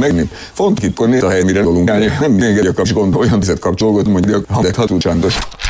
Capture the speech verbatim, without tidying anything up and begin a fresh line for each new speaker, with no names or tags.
megni. Fontos itt, hogy a hely, mire dolgunk állni, nem még egy a kapcsolat, olyan tizet kapcsolódott, mondjuk, ha de hatod csandos.